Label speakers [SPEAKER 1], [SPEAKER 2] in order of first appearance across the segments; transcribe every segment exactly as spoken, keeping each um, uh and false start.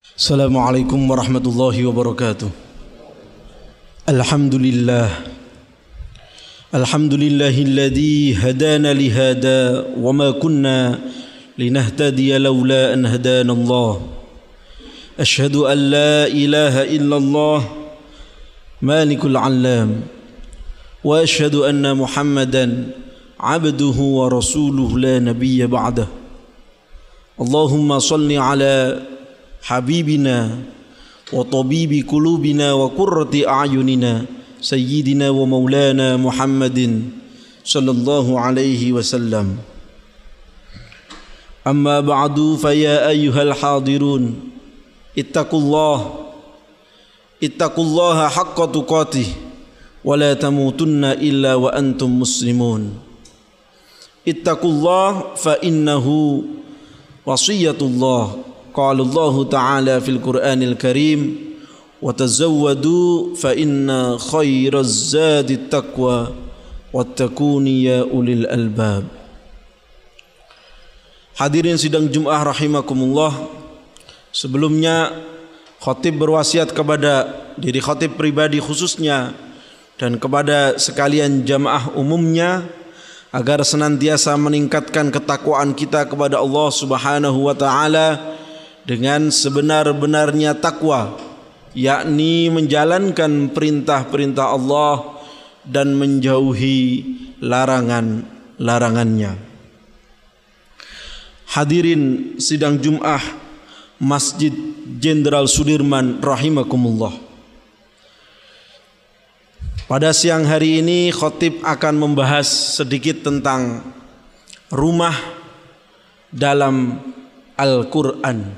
[SPEAKER 1] Assalamualaikum warahmatullahi wabarakatuh. Alhamdulillah Alhamdulillahilladzi hadana lihada wa ma kunna linahtadiya laula an hadana Allah. Ashhadu an la ilaha illallah malikul alam wa ashhadu anna Muhammadan abduhu wa rasuluhu la nabiyya ba'dah. Allahumma salli ala habibina wa tabibi qulubina wa qurrati a'yunina sayyidina wa maulana Muhammadin sallallahu alaihi wasallam. Amma ba'du fa ya ayyuhal hadirun ittaqullah ittaqullaha haqqa tuqatih wa la tamutunna illa wa antum muslimun. Ittaqullah fa innahu wasiyatullah. Qala Allah Ta'ala fil Qur'anil Karim wa tazawwadu fa inna khairaz zadit taqwa wattaquni ya ulil albab. Hadirin sidang Jumat rahimakumullah, sebelumnya khatib berwasiat kepada diri khatib pribadi khususnya dan kepada sekalian jamaah umumnya agar senantiasa meningkatkan ketakwaan kita kepada Allah Subhanahu wa taala dengan sebenar-benarnya takwa, yakni menjalankan perintah-perintah Allah dan menjauhi larangan-larangannya. Hadirin sidang Jumat Masjid Jenderal Sudirman rahimakumullah. Pada siang hari ini khatib akan membahas sedikit tentang rumah dalam Al-Quran.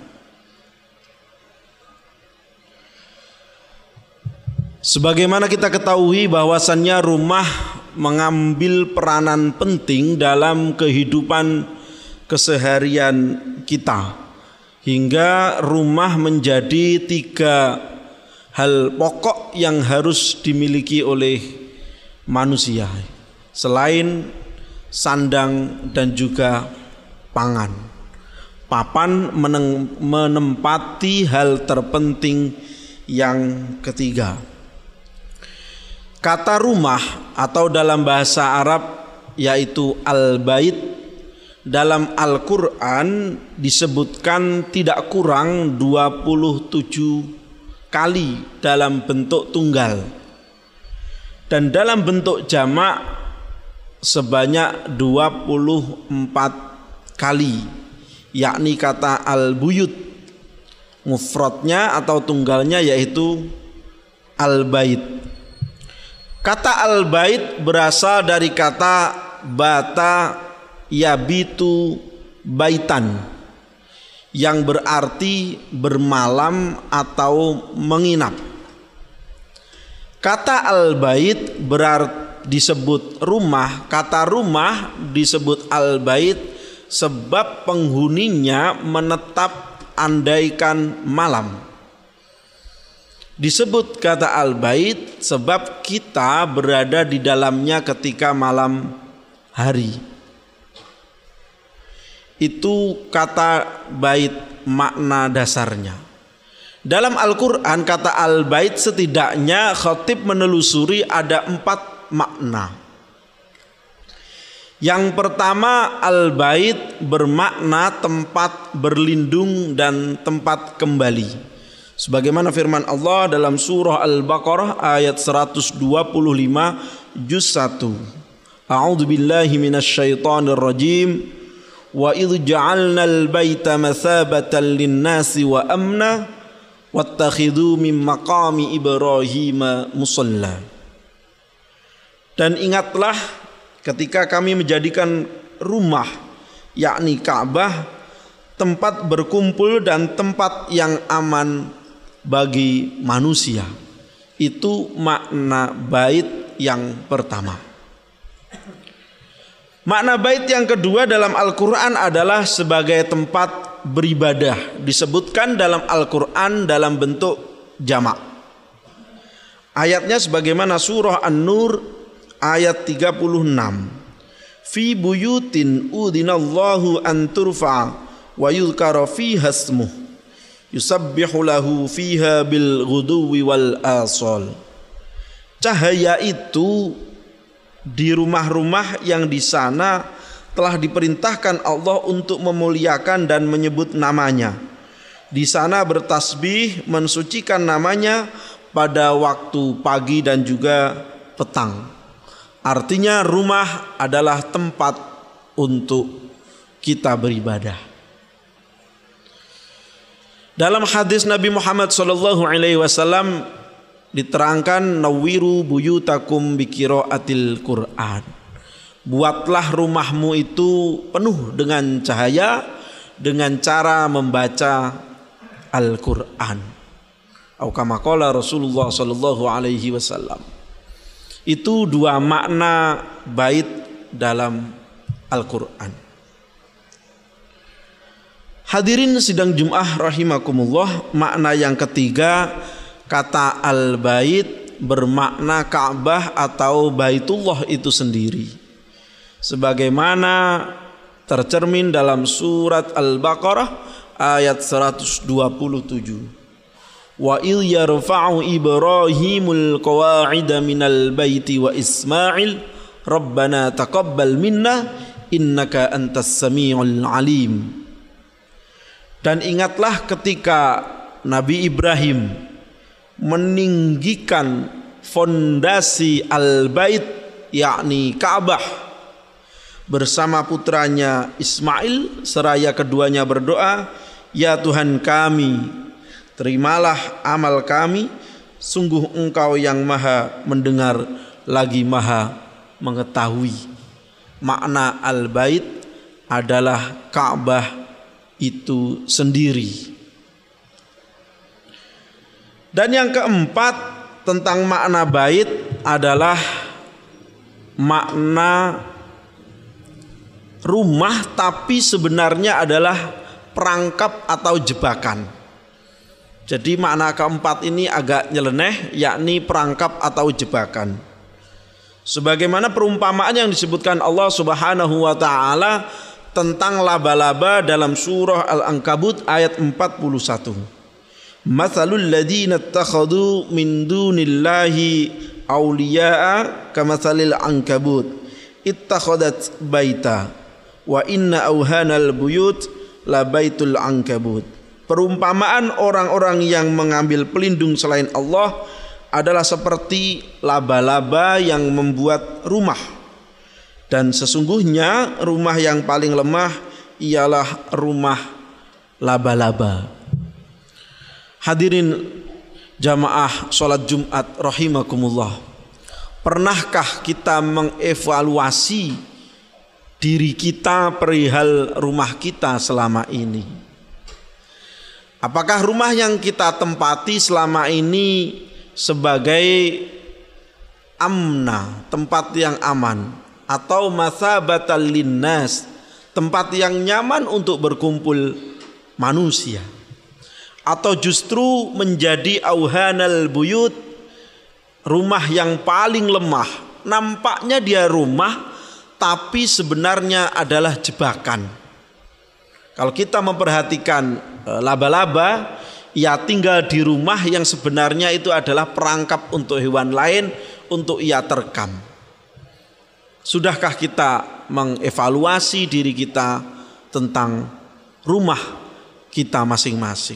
[SPEAKER 1] Sebagaimana kita ketahui bahwasannya rumah mengambil peranan penting dalam kehidupan keseharian kita, hingga rumah menjadi tiga hal pokok yang harus dimiliki oleh manusia selain sandang dan juga pangan. Papan menempati hal terpenting yang ketiga. Kata rumah atau dalam bahasa Arab yaitu al-bait dalam Al-Quran disebutkan tidak kurang dua puluh tujuh kali dalam bentuk tunggal dan dalam bentuk jamak sebanyak dua puluh empat kali, yakni kata al-buyut, mufradnya atau tunggalnya yaitu al-bait. Kata al-bait berasal dari kata bata yabitu baitan yang berarti bermalam atau menginap. Kata al-bait berarti disebut rumah, kata rumah disebut al-bait sebab penghuninya menetap andaikan malam. Disebut kata al-bait sebab kita berada di dalamnya ketika malam hari. Itu kata bait makna dasarnya. Dalam Al-Quran kata al-bait setidaknya khatib menelusuri ada empat makna. Yang pertama, al-bait bermakna tempat berlindung dan tempat kembali. Sebagaimana firman Allah dalam surah Al-Baqarah ayat seratus dua puluh lima juz satu. A'udzu billahi minasyaitonir rajim. Wa idh ja'alnal baita mathabatan lin-nasi wa amna wattakhidhu min maqami Ibrahim musalla. Dan ingatlah ketika kami menjadikan rumah yakni Ka'bah tempat berkumpul dan tempat yang aman bagi manusia. Itu makna bait yang pertama. Makna bait yang kedua dalam Al-Quran adalah sebagai tempat beribadah. Disebutkan dalam Al-Quran dalam bentuk jamak. Ayatnya sebagaimana surah An-Nur ayat tiga puluh enam. Fi buyutin udinallahu an turfa wa yuzkara fiha ismuh yusabbihu lahu fiha bil ghuduwi wal asal. Cahaya itu di rumah-rumah yang di sana telah diperintahkan Allah untuk memuliakan dan menyebut namanya. Di sana bertasbih mensucikan namanya pada waktu pagi dan juga petang. Artinya rumah adalah tempat untuk kita beribadah. Dalam hadis Nabi Muhammad sallallahu alaihi wasallam diterangkan, nawwiru buyutakum biqiraatil Qur'an. Buatlah rumahmu itu penuh dengan cahaya dengan cara membaca Al-Qur'an. Atau kama qala Rasulullah sallallahu alaihi wasallam. Itu dua makna bait dalam Al-Qur'an. Hadirin sidang Jum'ah rahimakumullah, makna yang ketiga, kata al-bait bermakna Ka'bah atau Baitullah itu sendiri. Sebagaimana tercermin dalam surat Al-Baqarah ayat seratus dua puluh tujuh. Wa il yarfa'u Ibrahimul qawa'ida minal baiti wa Ismail Rabbana taqabbal minna innaka antas samiul alim. Dan ingatlah ketika Nabi Ibrahim meninggikan fondasi Al-Bait yakni Ka'bah bersama putranya Ismail, seraya keduanya berdoa, ya Tuhan kami, terimalah amal kami, sungguh Engkau yang maha mendengar lagi maha mengetahui. Makna Al-Bait adalah Ka'bah itu sendiri. Dan yang keempat tentang makna bait adalah makna rumah tapi sebenarnya adalah perangkap atau jebakan. Jadi makna keempat ini agak nyeleneh, yakni perangkap atau jebakan. Sebagaimana perumpamaan yang disebutkan Allah Subhanahu wa taala tentang laba-laba dalam surah Al-Ankabut ayat empat puluh satu. Matsalul ladzina ittakhadhu min dunillahi awliya'a kamatsalil ankabut ittakhadat baita wa inna awhanal buyut la baitul ankabut. Perumpamaan orang-orang yang mengambil pelindung selain Allah adalah seperti laba-laba yang membuat rumah. Dan sesungguhnya rumah yang paling lemah ialah rumah laba-laba. Hadirin jamaah sholat Jumat rahimakumullah. Pernahkah kita mengevaluasi diri kita perihal rumah kita selama ini? Apakah rumah yang kita tempati selama ini sebagai amna, tempat yang aman, atau mathabatal linnas, tempat yang nyaman untuk berkumpul manusia, atau justru menjadi auhanal buyut, rumah yang paling lemah? Nampaknya dia rumah tapi sebenarnya adalah jebakan. Kalau kita memperhatikan laba-laba, ia tinggal di rumah yang sebenarnya itu adalah perangkap untuk hewan lain untuk ia terkam. Sudahkah kita mengevaluasi diri kita tentang rumah kita masing-masing?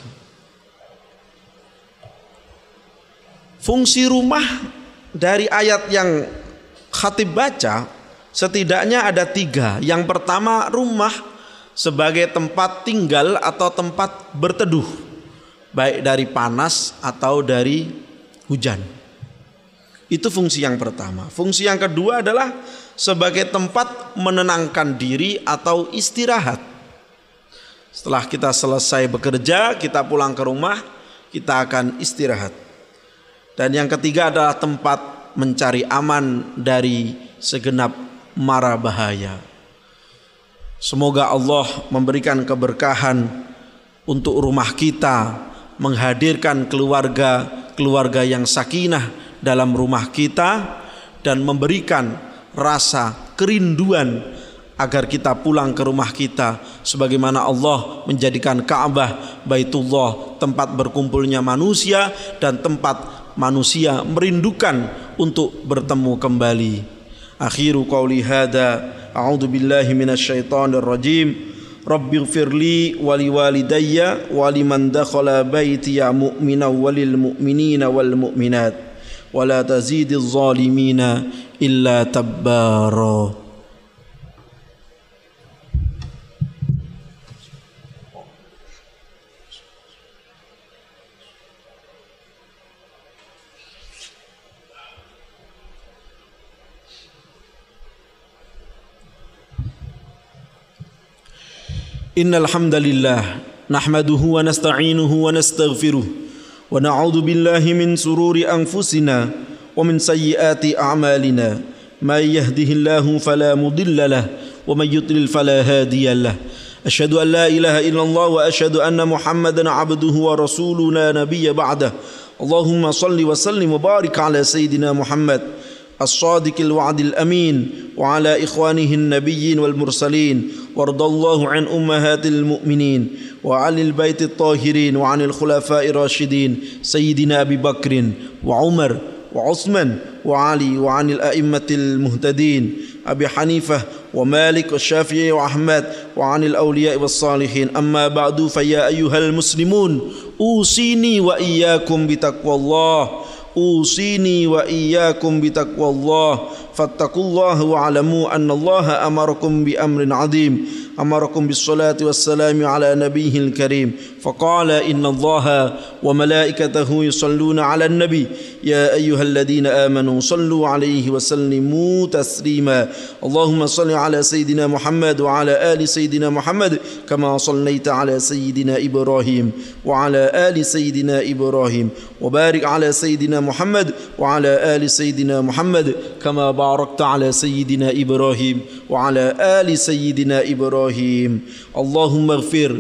[SPEAKER 1] Fungsi rumah dari ayat yang khatib baca setidaknya ada tiga. Yang pertama, rumah sebagai tempat tinggal atau tempat berteduh, baik dari panas atau dari hujan. Itu fungsi yang pertama. Fungsi yang kedua adalah sebagai tempat menenangkan diri atau istirahat. Setelah kita selesai bekerja, kita pulang ke rumah, kita akan istirahat. Dan yang ketiga adalah tempat mencari aman dari segenap mara bahaya. Semoga Allah memberikan keberkahan untuk rumah kita, menghadirkan keluarga-keluarga yang sakinah dalam rumah kita, dan memberikan rasa kerinduan agar kita pulang ke rumah kita sebagaimana Allah menjadikan Ka'bah, Baitullah, tempat berkumpulnya manusia dan tempat manusia merindukan untuk bertemu kembali. Akhiru qauli hadza, a'udzu billahi minasyaitonir rajim. Rabbighfirli wa liwalidayya wa liman dakhala baitiya mu'minan walil mu'minina wal mu'minat wa la tazidiz zalimina illa tabbara. Innal hamdalillah nahmaduhu wa nasta'inuhu wa nastaghfiruh wa na'udzu billahi min sururi anfusina wa min sayyiati a'malina may yahdihillahu fala mudilla lahu wa may yudlil fala hadiya lahu. Asyhadu an la ilaha illallah wa asyhadu anna Muhammadan 'abduhu wa rasuluhu la nabiyya ba'dahu. Allahumma shalli wa sallim wa barik ala sayyidina Muhammad الصادق الوعد الأمين وعلى إخوانه النبيين والمرسلين وارض الله عن أمهات المؤمنين وعن البيت الطاهرين وعن الخلفاء الراشدين سيدنا أبي بكر وعمر وعثمان وعلي وعن الأئمة المهتدين أبي حنيفة ومالك والشافعي وأحمد وعن الأولياء والصالحين. أما بعد فيا أيها المسلمون أوصيني وإياكم بتقوى الله أوصيني وإياكم بتقوى الله فاتقوا الله واعلموا أن الله أمركم بأمر عظيم أمركم بالصلاة والسلام على نبيه الكريم فقال إن الله وملائكته يصلون على النبي يا أيها الذين آمنوا صلوا عليه وسلموا تسليما. اللهم صل على سيدنا محمد وعلى آل سيدنا محمد كما صليت على سيدنا إبراهيم وعلى آل سيدنا إبراهيم وبارك على سيدنا محمد وعلى آل سيدنا محمد كما باركت على سيدنا إبراهيم وعلى آل سيدنا إبراهيم. اللهم اغفر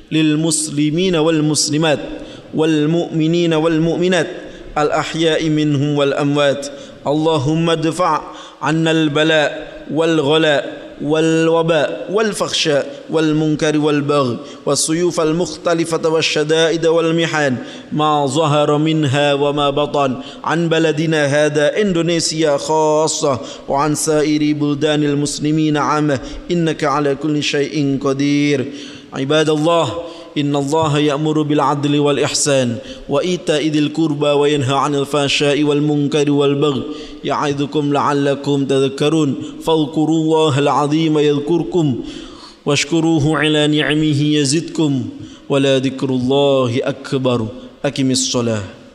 [SPEAKER 1] للمسلمين والمسلمات والمؤمنين والمؤمنات الأحياء منهم والأموات. اللهم ادفع عنا البلاء والغلاء والوباء والفحشاء والمنكر والبغي والسيوف المختلفة والشدائد والمحن ما ظهر منها وما بطن عن بلدنا هذا إندونيسيا خاصة وعن سائر بلدان المسلمين عامة إنك على كل شيء قدير. عباد الله إن الله يأمر بالعدل والإحسان وإيتاء ذي القربى وينهى عن الفحشاء والمنكر والبغي يعظكم لعلكم تذكرون فاذكروا الله العظيم يذكركم واشكروه على نعمه يزدكم ولذكر الله أكبر. أقم الصلاة.